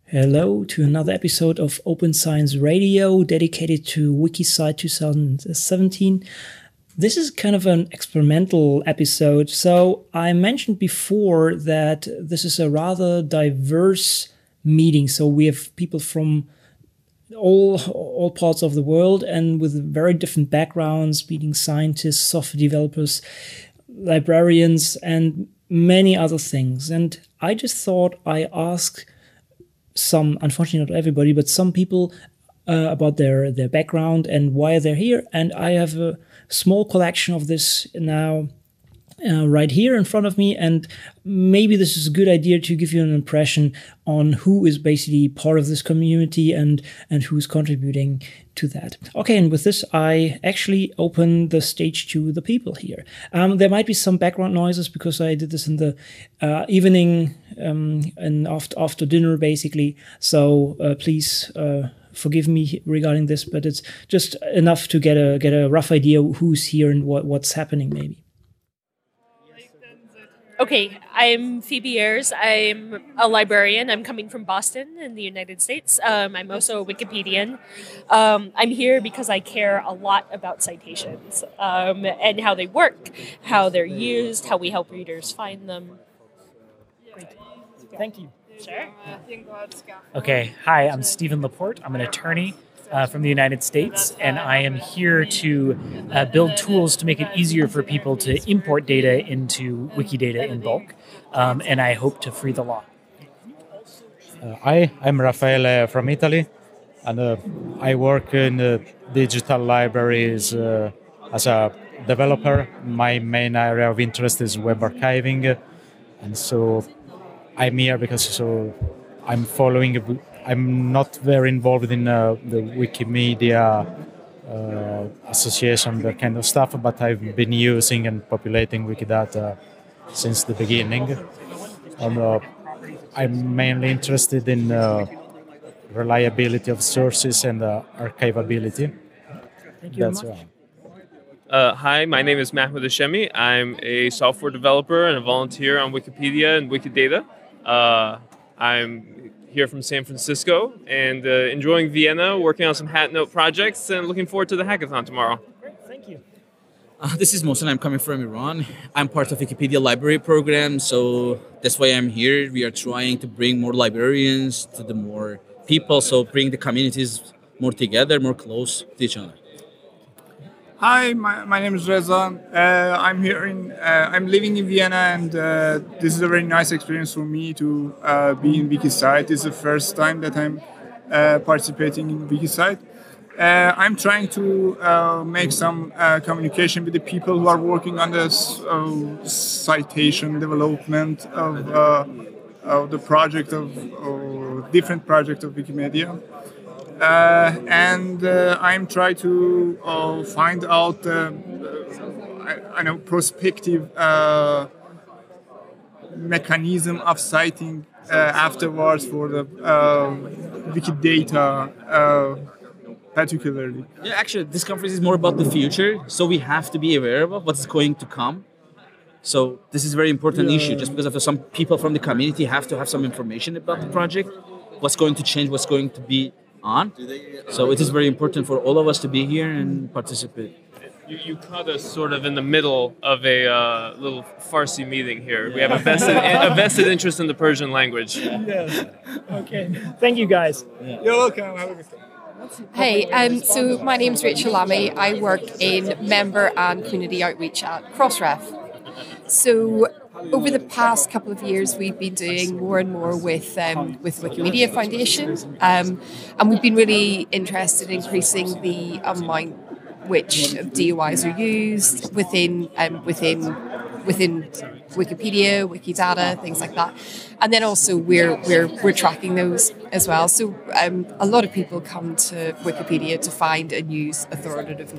Hello to another episode of Open Science Radio dedicated to Wikisite 2017. This is kind of an experimental episode. So I mentioned before that this is a rather diverse meeting. So we have people from all parts of the world and with very different backgrounds, being scientists, software developers, librarians, and many other things. And I just thought I ask some, unfortunately not everybody, but some people about their background and why they're here. And I have a small collection of this now right here in front of me, and maybe this is a good idea to give you an impression on who is basically part of this community and who's contributing to that. Okay, and with this, I actually open the stage to the people here. There might be some background noises because I did this in the evening and after dinner, basically. So please forgive me regarding this, but it's just enough to get a rough idea who's here and what's happening, maybe. Okay, I'm Phoebe Ayers. I'm a librarian. I'm coming from Boston in the United States. I'm also a Wikipedian. I'm here because I care a lot about citations and how they work, how they're used, how we help readers find them. Great. Thank you. Sure. Okay, hi, I'm Stephen Laporte. I'm an attorney from the United States, and I am here to build tools to make it easier for people to import data into Wikidata in bulk, and I hope to free the law. Hi, I'm Raffaele from Italy, and I work in digital libraries as a developer. My main area of interest is web archiving, and so I'm here because I'm following. I'm not very involved in the Wikimedia Association, that kind of stuff, but I've been using and populating Wikidata since the beginning. And I'm mainly interested in reliability of sources and archivability. Thank you That's very much. right. Hi, my name is Mahmoud Hashemi. I'm a software developer and a volunteer on Wikipedia and Wikidata. I'm here from San Francisco and enjoying Vienna, working on some Hat Note projects, and looking forward to the hackathon tomorrow. Great, thank you. This is Mohsen. I'm coming from Iran. I'm part of Wikipedia library program, so that's why I'm here. We are trying to bring more librarians to the more people, so bring the communities more together, more close to each other. Hi, my name is Reza. I'm here I'm living in Vienna, and this is a very nice experience for me to be in Wikisite. This is the first time that I'm participating in Wikisite. I'm trying to make some communication with the people who are working on the citation development of the project of different projects of Wikimedia. And I'm trying to find out, prospective mechanism of citing afterwards for the Wikidata particularly. Yeah, actually, this conference is more about the future, so we have to be aware of what's going to come. So this is a very important issue, just because of some people from the community have to have some information about the project, what's going to change, what's going to be on. So it is very important for all of us to be here and participate. You caught us sort of in the middle of a little Farsi meeting here. We have a vested interest in the Persian language. Yes. Okay. Thank you, guys. You're welcome. Have a good day. Hey, so my name's Rachel Lamy. I work in member and community outreach at Crossref. So over the past couple of years, we've been doing more and more with Wikimedia Foundation, and we've been really interested in increasing the amount which DOIs are used within Wikipedia, Wikidata, things like that. And then also we're tracking those as well. So a lot of people come to Wikipedia to find and use authoritative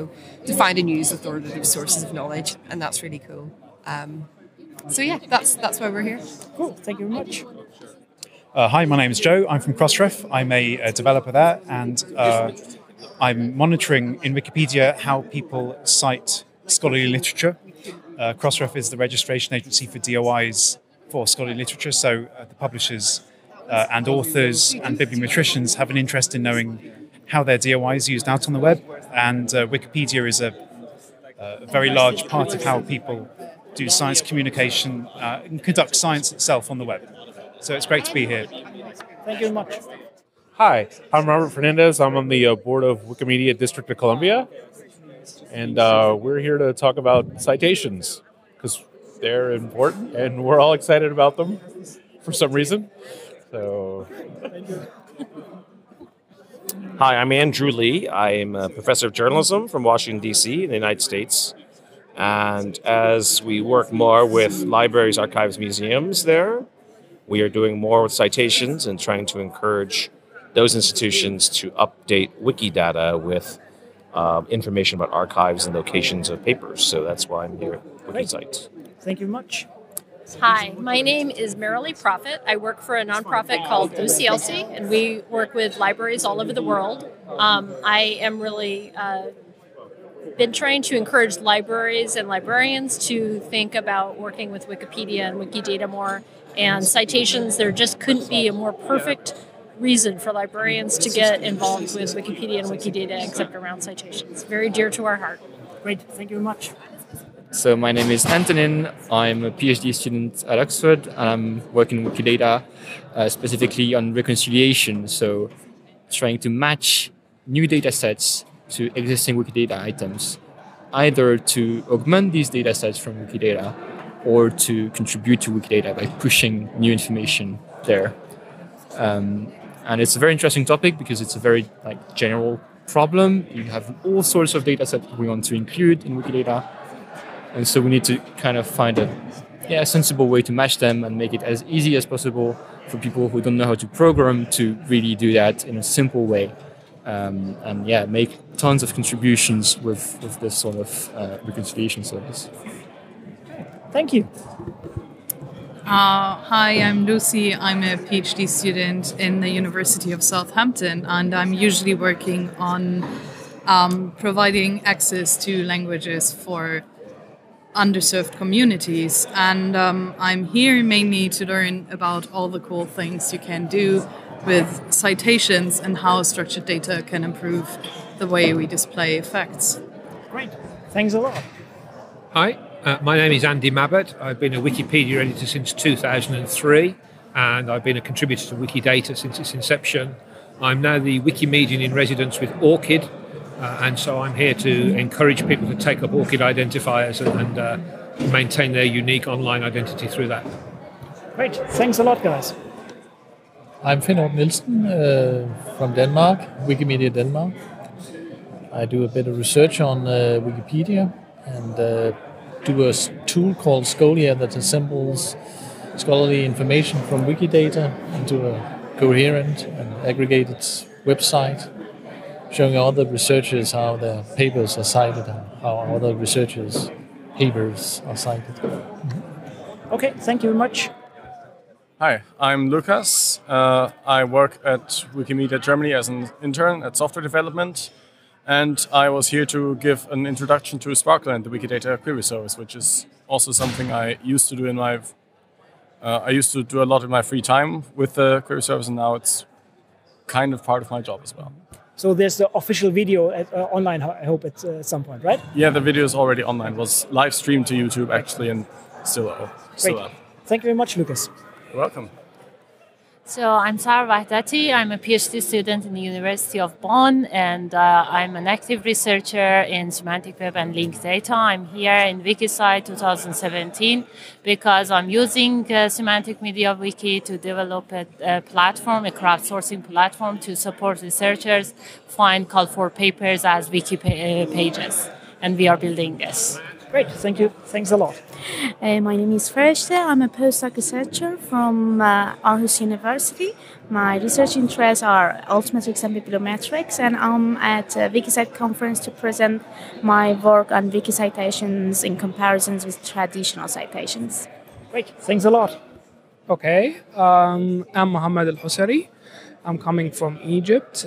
sources of knowledge, and that's really cool. So yeah, that's why we're here. Cool. Thank you very much. Hi, my name is Joe. I'm from Crossref. I'm a developer there, and I'm monitoring in Wikipedia how people cite scholarly literature. Crossref is the registration agency for DOIs for scholarly literature, so the publishers and authors and bibliometricians have an interest in knowing how their DOI is used out on the web. And Wikipedia is a very large part of how people do science communication and conduct science itself on the web. So it's great to be here. Thank you very much. Hi, I'm Robert Fernandez. I'm on the board of Wikimedia District of Columbia. And we're here to talk about citations because they're important and we're all excited about them for some reason. So, hi, I'm Andrew Lee. I'm a professor of journalism from Washington, D.C. in the United States. And as we work more with libraries, archives, museums there, we are doing more with citations and trying to encourage those institutions to update Wikidata with information about archives and locations of papers. So that's why I'm here at Wikisite. Thank you very much. Hi, my name is Marilee Prophet. I work for a nonprofit called OCLC, and we work with libraries all over the world. I am really been trying to encourage libraries and librarians to think about working with Wikipedia and Wikidata more. And citations, there just couldn't be a more perfect reason for librarians to get involved with Wikipedia and Wikidata except around citations. Very dear to our heart. Great, thank you very much. So my name is Antonin. I'm a PhD student at Oxford, and I'm working in Wikidata, specifically on reconciliation. So trying to match new data sets to existing Wikidata items, either to augment these data sets from Wikidata or to contribute to Wikidata by pushing new information there. And it's a very interesting topic because it's a very general problem. You have all sorts of data sets we want to include in Wikidata. And so we need to kind of find a sensible way to match them and make it as easy as possible for people who don't know how to program to really do that in a simple way. Make tons of contributions with this sort of reconciliation service. Thank you. Hi, I'm Lucy. I'm a PhD student in the University of Southampton, and I'm usually working on providing access to languages for underserved communities. And I'm here mainly to learn about all the cool things you can do with citations and how structured data can improve the way we display facts. Great. Thanks a lot. Hi. My name is Andy Mabbott. I've been a Wikipedia editor since 2003, and I've been a contributor to Wikidata since its inception. I'm now the Wikimedian in residence with ORCID, and so I'm here to encourage people to take up ORCID identifiers and maintain their unique online identity through that. Great. Thanks a lot, guys. I'm Finn Ort Nielsen from Denmark, Wikimedia Denmark. I do a bit of research on Wikipedia and do a tool called Scholia that assembles scholarly information from Wikidata into a coherent and aggregated website, showing other researchers how their papers are cited and how other researchers' papers are cited. Mm-hmm. Okay, thank you very much. Hi, I'm Lucas. I work at Wikimedia Germany as an intern at software development. And I was here to give an introduction to Sparkle and the Wikidata query service, which is also something I used to do in my... I used to do a lot in my free time with the query service, and now it's kind of part of my job as well. So there's the official video online, I hope, at some point, right? Yeah, the video is already online. It was live streamed to YouTube, actually, and still up. Great. Thank you very much, Lucas. You're welcome. So I'm Sarah Wahdati. I'm a PhD student in the University of Bonn, and I'm an active researcher in semantic web and linked data. I'm here in Wikisite 2017 because I'm using Semantic Media Wiki to develop a platform, a crowdsourcing platform to support researchers find call for papers as wiki pages, and we are building this. Great, thank you. Thanks a lot. My name is Fereshte. I'm a postdoc researcher from Aarhus University. My research interests are altmetrics and bibliometrics, and I'm at Wikisite conference to present my work on wiki citations in comparisons with traditional citations. Great, thanks a lot. Okay, I'm Mohammed Al-Husari. I'm coming from Egypt.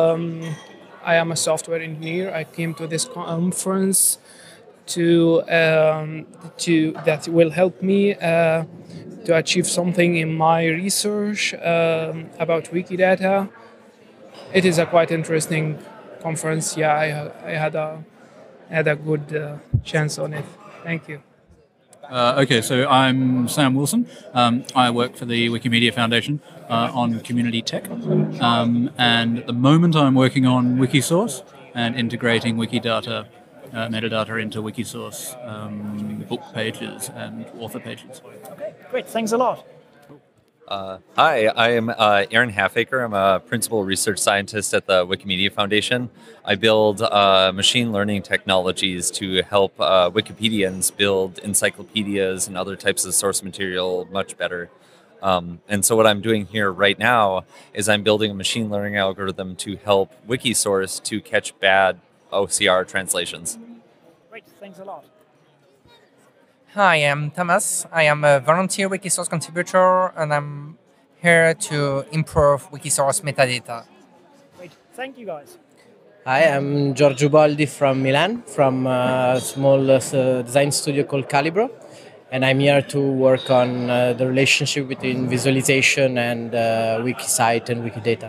I am a software engineer. I came to this conference that will help me to achieve something in my research about Wikidata. It is a quite interesting conference. Yeah, I had a good chance on it. Thank you. Okay, so I'm Sam Wilson. I work for the Wikimedia Foundation on community tech. And at the moment I'm working on Wikisource and integrating Wikidata, metadata into Wikisource book pages and author pages. Okay, great. Thanks a lot. Hi, I am Aaron Halfaker. I'm a principal research scientist at the Wikimedia Foundation. I build machine learning technologies to help Wikipedians build encyclopedias and other types of source material much better. And so what I'm doing here right now is I'm building a machine learning algorithm to help Wikisource to catch bad OCR translations. Great, thanks a lot. Hi, I'm Thomas. I am a volunteer Wikisource contributor, and I'm here to improve Wikisource metadata. Great, thank you guys. Hi, I'm Giorgio Boldi from Milan, from a small design studio called Calibro, and I'm here to work on the relationship between visualization and Wikisite and Wikidata.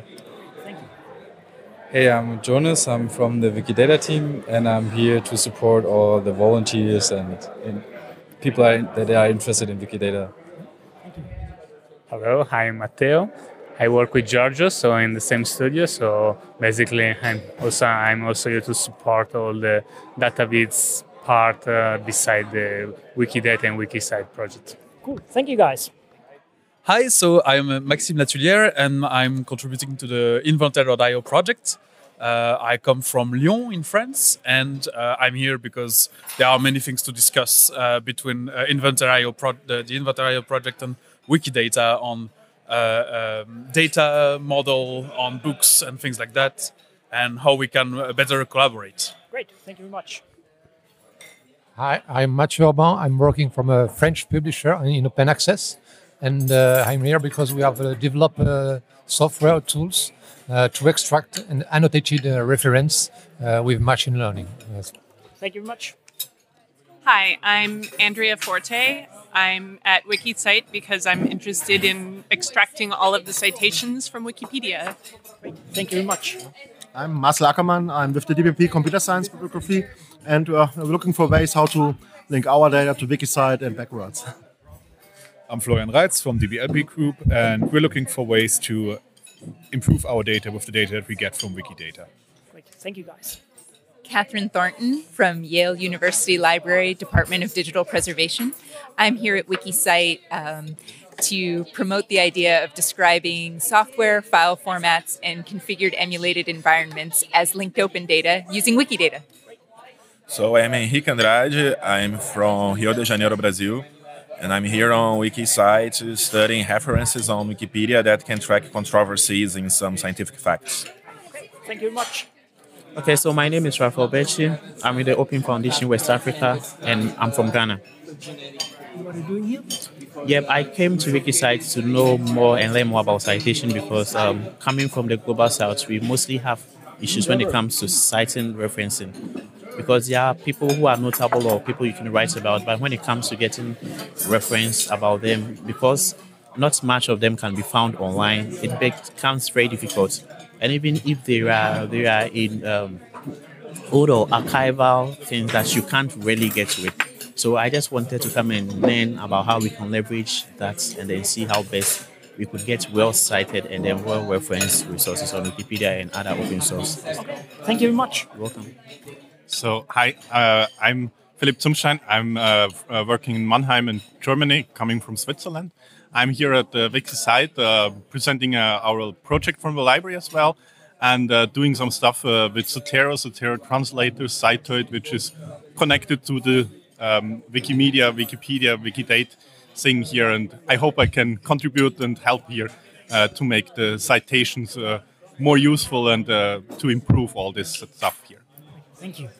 Hey, I'm Jonas. I'm from the Wikidata team, and I'm here to support all the volunteers and people that are interested in Wikidata. Hello, I'm Matteo. I work with Giorgio, so in the same studio. So basically, I'm also here to support all the database part beside the Wikidata and Wikisite project. Cool, thank you guys. Hi, so I'm Maxime Latulière and I'm contributing to the Inventaire.io project. I come from Lyon in France, and I'm here because there are many things to discuss between the Inventaire.io project and Wikidata on data model, on books and things like that, and how we can better collaborate. Great, thank you very much. Hi, I'm Mathieu Urban. I'm working from a French publisher in open access, and I'm here because we have developed software tools to extract an annotated reference with machine learning. Yes. Thank you very much. Hi, I'm Andrea Forte. I'm at Wikisite because I'm interested in extracting all of the citations from Wikipedia. Great. Thank you very much. I'm Marcel Ackermann. I'm with the DBP Computer Science Bibliography, and we're looking for ways how to link our data to Wikisite and backwards. I'm Florian Reitz from DBLB Group, and we're looking for ways to improve our data with the data that we get from Wikidata. Great. Thank you, guys. Catherine Thornton from Yale University Library, Department of Digital Preservation. I'm here at Wikisite to promote the idea of describing software, file formats, and configured emulated environments as linked open data using Wikidata. So I'm Henrique Andrade. I'm from Rio de Janeiro, Brazil. And I'm here on Wikisite studying references on Wikipedia that can track controversies in some scientific facts. Thank you very much. Okay, so my name is Rafael Bechi. I'm with the Open Foundation West Africa, and I'm from Ghana. What are you doing here? Yep, I came to Wikisite to know more and learn more about citation because coming from the Global South, we mostly have issues when it comes to citing referencing. Because there are people who are notable or people you can write about, but when it comes to getting reference about them, because not much of them can be found online, it becomes very difficult. And even if they are in old or archival things that you can't really get with. So I just wanted to come and learn about how we can leverage that and then see how best we could get well-cited and then well-referenced resources on Wikipedia and other open source. Okay. Thank you very much. You're welcome. So, hi, I'm Philipp Zumstein. I'm working in Mannheim in Germany, coming from Switzerland. I'm here at the Wikisite presenting our project from the library as well, and doing some stuff with Zotero. Zotero translator, Citoid, which is connected to the Wikimedia, Wikipedia, Wikidate thing here. And I hope I can contribute and help here to make the citations more useful and to improve all this stuff here. Thank you.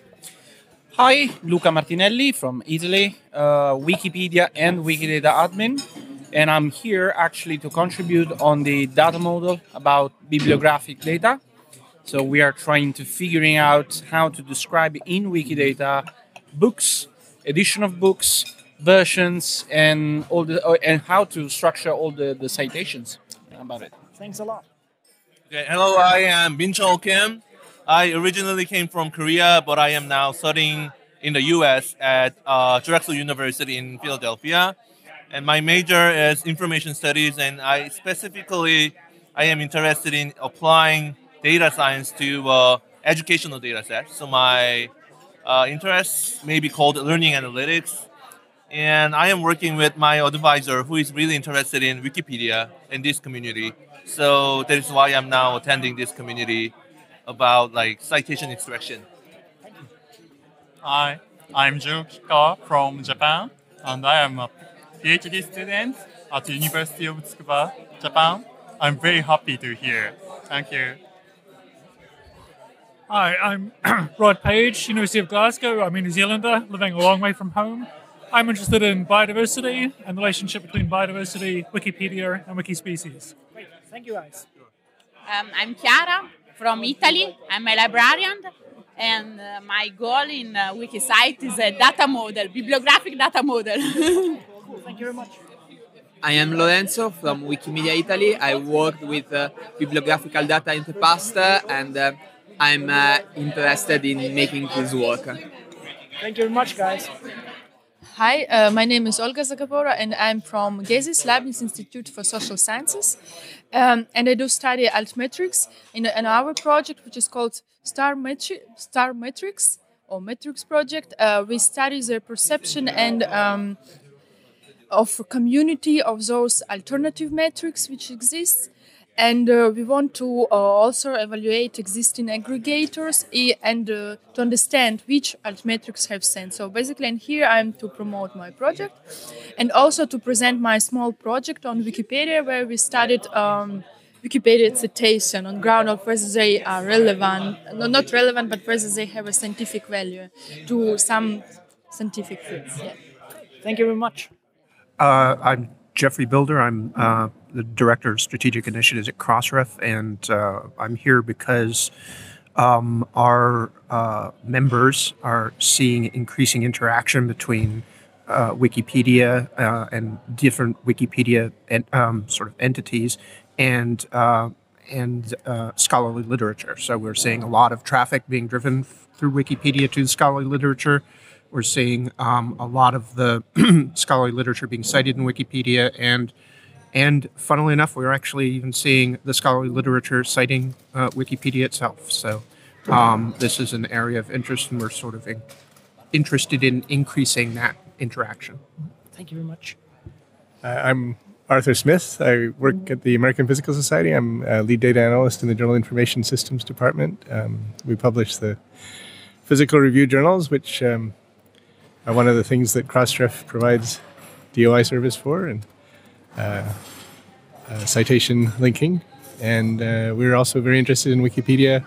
Hi, Luca Martinelli from Italy, Wikipedia and Wikidata admin. And I'm here actually to contribute on the data model about bibliographic data. So we are trying to figuring out how to describe in Wikidata books, edition of books, versions and all the and how to structure all the citations about it. Thanks a lot. Okay, hello, I am Bin-Chul Kim. I originally came from Korea, but I am now studying in the U.S. at Drexel University in Philadelphia. And my major is information studies, and I am interested in applying data science to educational data sets. So my interests may be called learning analytics. And I am working with my advisor who is really interested in Wikipedia and this community. So that is why I'm now attending this community about like citation extraction. Hi, I'm Jun Kikawa from Japan, and I am a PhD student at the University of Tsukuba, Japan. I'm very happy to hear. Thank you. Hi, I'm Rod Page, University of Glasgow. I'm a New Zealander living a long way from home. I'm interested in biodiversity and the relationship between biodiversity, Wikipedia, and Wikispecies. Great, thank you guys. I'm Chiara from Italy. I'm a librarian, and my goal in Wikisite is a data model, bibliographic data model. Cool, thank you very much. I am Lorenzo from Wikimedia Italy. I worked with bibliographical data in the past, and I'm interested in making this work. Thank you very much, guys. Hi, my name is Olga Zagabora, and I'm from GESIS, Leibniz Institute for Social Sciences. And I do study altmetrics in our project, which is called Star Metrics or Metrics Project. We study the perception and of community of those alternative metrics which exist. And we want to also evaluate existing aggregators and to understand which altmetrics have sense. So basically, and here I'm to promote my project and also to present my small project on Wikipedia, where we studied Wikipedia citation on ground of whether they are relevant, not relevant, but whether they have a scientific value to some scientific fields. Yeah. Thank you very much. I'm Jeffrey Builder. I'm the Director of Strategic Initiatives at Crossref, and I'm here because our members are seeing increasing interaction between Wikipedia and different Wikipedia sort of entities and scholarly literature. So we're seeing a lot of traffic being driven through Wikipedia to scholarly literature. We're seeing a lot of the scholarly literature being cited in Wikipedia, and funnily enough, we're actually even seeing the scholarly literature citing Wikipedia itself. So this is an area of interest, and we're sort of interested in increasing that interaction. Thank you very much. I'm Arthur Smith. I work at the American Physical Society. I'm a lead data analyst in the Journal Information Systems Department. We publish the physical review journals, which are one of the things that Crossref provides DOI service for, and citation linking. And we're also very interested in Wikipedia.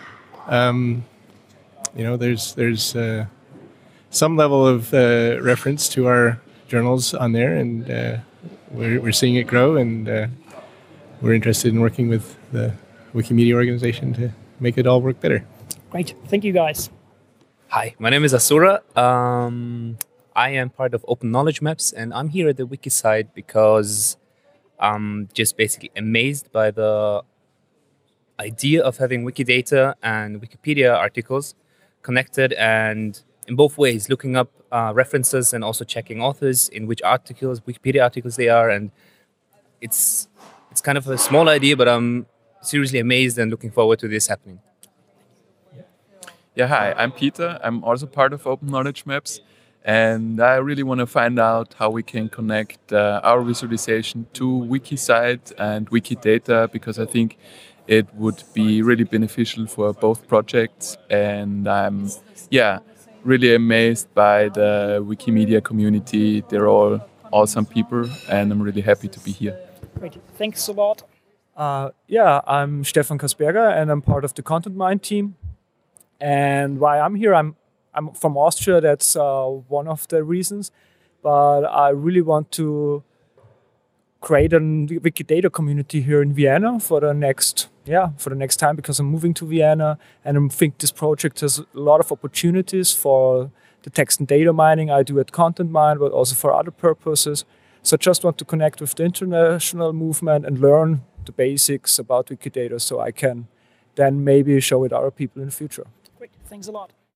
There's some level of reference to our journals on there, and we're seeing it grow, and we're interested in working with the Wikimedia organization to make it all work better. Great. Thank you, guys. Hi, my name is Asura. I am part of Open Knowledge Maps, and I'm here at the Wikisite because I'm just basically amazed by the idea of having Wikidata and Wikipedia articles connected, and in both ways, looking up references and also checking authors in which articles, Wikipedia articles they are. And it's kind of a small idea, but I'm seriously amazed and looking forward to this happening. Yeah, hi, I'm Peter. I'm also part of Open Knowledge Maps, and I really want to find out how we can connect our visualization to Wikisite and Wikidata, because I think it would be really beneficial for both projects. And I'm, really amazed by the Wikimedia community. They're all awesome people, and I'm really happy to be here. Great, thanks a lot. I'm Stefan Kasperger, and I'm part of the Content Mind team. And why I'm here, I'm from Austria. That's one of the reasons. But I really want to create a Wikidata community here in Vienna for the next time, because I'm moving to Vienna, and I think this project has a lot of opportunities for the text and data mining I do at Content Mine, but also for other purposes. So I just want to connect with the international movement and learn the basics about Wikidata so I can then maybe show it other people in the future. Great, thanks a lot.